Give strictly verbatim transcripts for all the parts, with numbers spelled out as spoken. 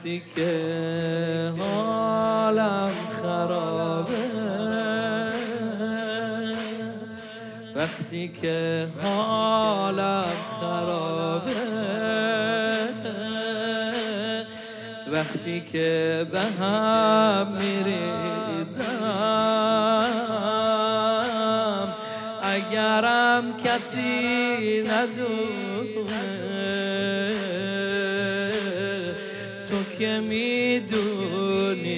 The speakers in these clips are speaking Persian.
وقتی که حالم خرابه، وقتی که حالم خرابه، وقتی که به هم میریزم، اگرم کسی ندونه تو که میدونی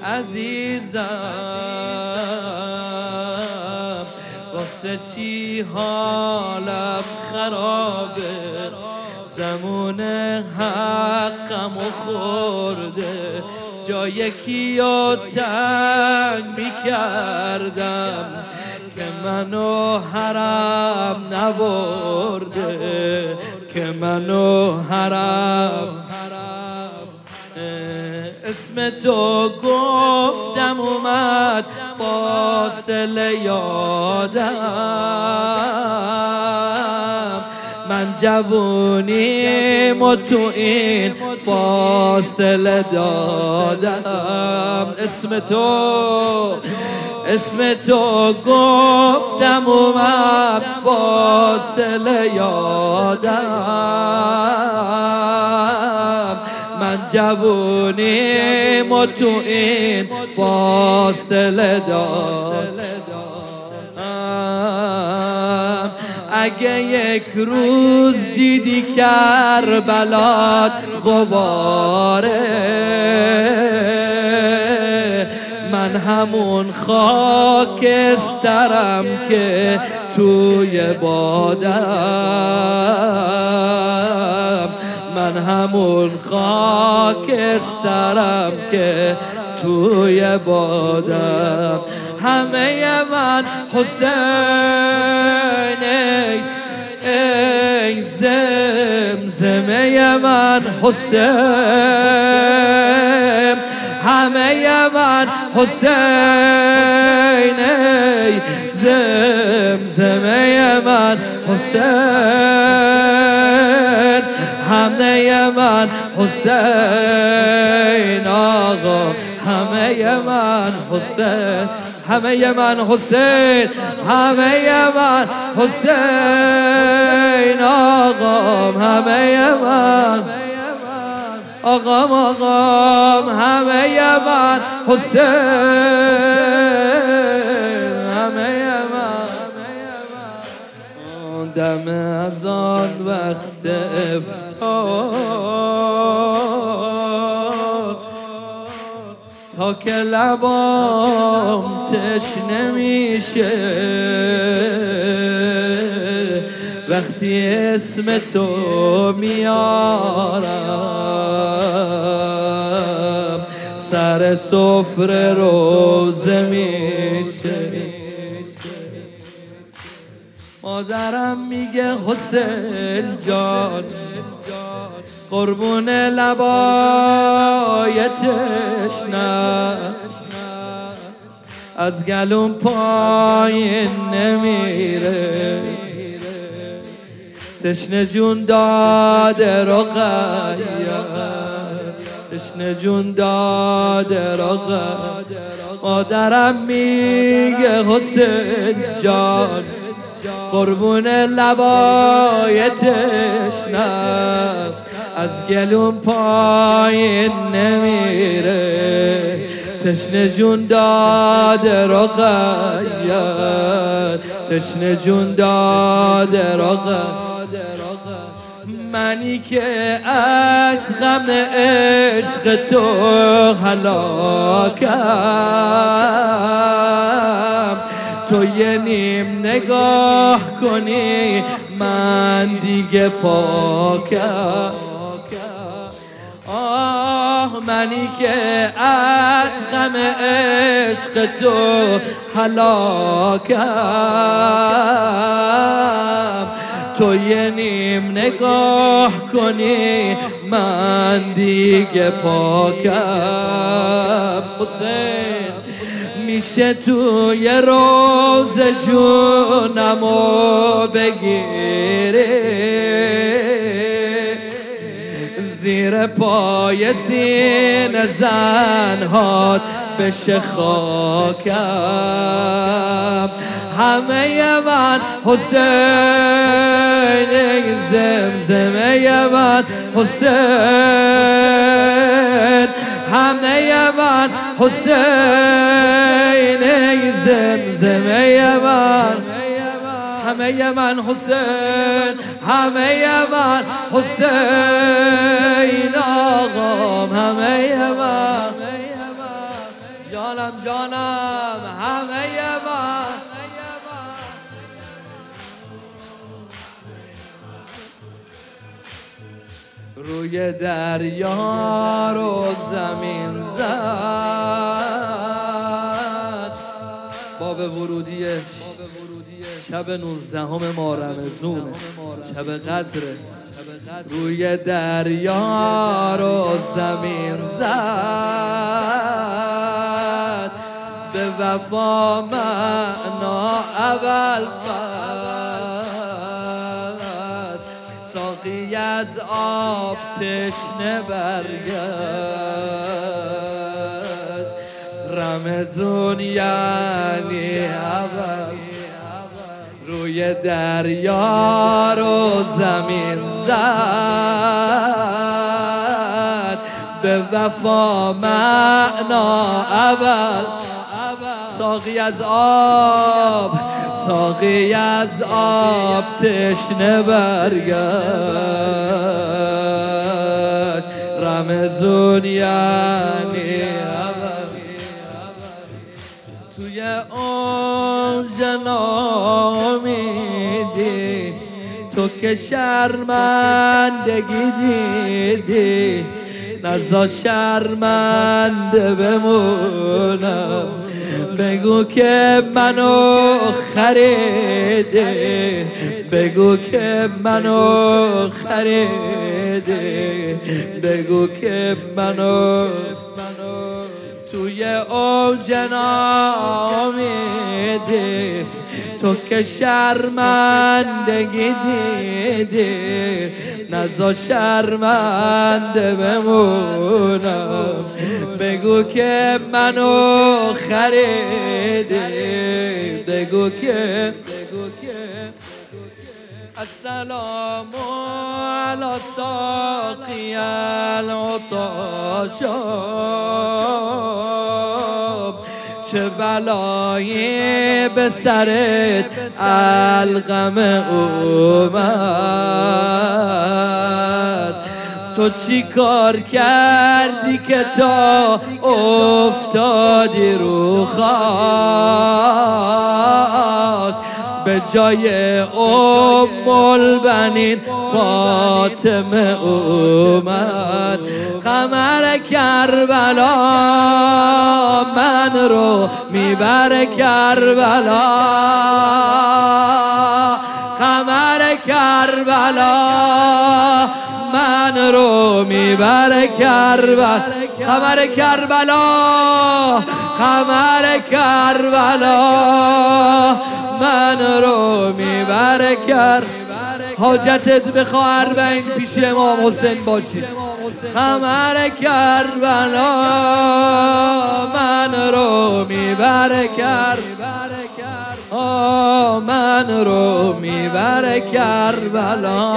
عزیزم، واسه چی حالم خرابه، زمون حقمو خورده، جای کیو تنگ میکردم که منو حرم نبرده، که منو حرم. اسم تو گفتم اومد فاصله یادم، من جوونیم و تو این فاصله دادم. اسم تو اسم تو گفتم اومد فاصله یادم، من جوونیم و تو این فاصله دادم. اگه یک روز دیدی کربلات غباره، من همون خاکسترم که توی بادم، من همون خاکسترم که توی بادم. همه من حسین، ای زمزمه من حسین، همه من حسین، ای زمزمه من حسین، همه من حسین آقا، همه من حسین، همه من حسین، همه من حسین آقام، همه من آقام، آقام، همه من حسین، همه من. دم از آن وقت افتار تا که لبام تشنه میشه، وقتی اسم تو میارم، سر سفره روزه میشه. مادرم میگه حسین جان، قربون لبای تشنه، از گلوم پایین نمیره، تشنه جون داده رقیه، تشنه جون داده رقیه. مادرم میگه حسین جان، قربون لبای تشنه، از گلوم پایین نمیره، تشنه جون داده رقیه، تشنه جون داده رقیه. منی که از غم عشق تو هلاکم، تو یه نیم نگاه کنی من دیگه پاکم. آه منی که از غم عشق تو هلاکم، تو یه نیم نگاه کنی من دیگه پاکم. حسین میشه توی روز جونمو بگیری، زیر پای سینه زنهات بشه خاکم. همه من حسین، زمزمه من حسین، همه من حسین، زمزمه من، همه من حسین، همه من حسین آقام، همه من جانم جانم، همه من روی دریا رو زمین زد. باب ورودی شب نوزدهم ماه رمضون، شب قدره. روی دریا رو زمین زد، به وفا معنا اول فصل. ساقی از آب تشنه برگشت، رمضون یعنی اول. روی دریا رو زمین زد، به وفا معنا اول. ساقی از آب، ساقی از آب تشنه برگشت، رمضون یعنی اول. توی اون جنامیدی تو که شرمندگی دیدی، نزا شرمنده بمونم. بگو که منو خریده، بگو که منو خریده، بگو که منو توی اوج نامیدی تو که شرمندگی دیدی، نزا شرمنده بمونم. بگو که منو خریدی، بگو که السلام علی ساقی العطاشاب. چه بلایی به سرت القم اومد، تو چی کار کردی که تا افتادی رو خاک؟ به جای ام البنین فاطمه اومد. قمر کربلا من رو میبره کربلا، قمر کربلا من رو میبره کربلا، قمر کربلا، قمر کربلا من رو میبره کربلا. حاجتت بخواه اربعین پیش امام حسین باشی. قمر کربلا من رو میبره کربلا، من رو میبره کربلا،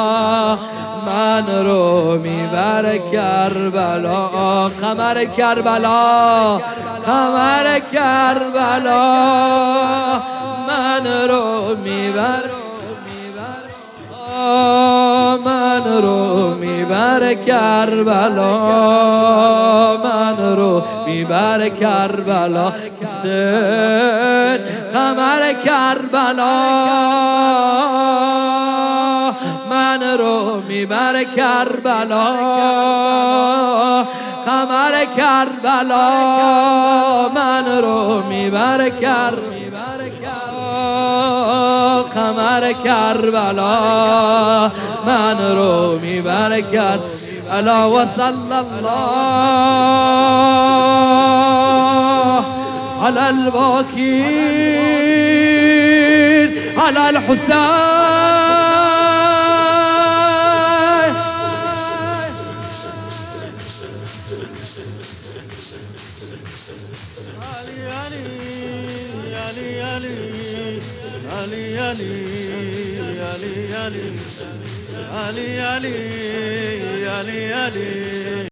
من رو میبره کربلا. قمر کربلا، قمر کربلا من رو میبره، من رو میبره کربلا، من رو میبره کربلا. حسین قمر کربلا من رو میبره کربلا، قمر کربلا من رو میبره کربلا، قمر کربلا من رو میبره کربلا. و صلی الله علی الباکین علی الحسین. علي علي علي علي علي علي علي علي علي علي علي علي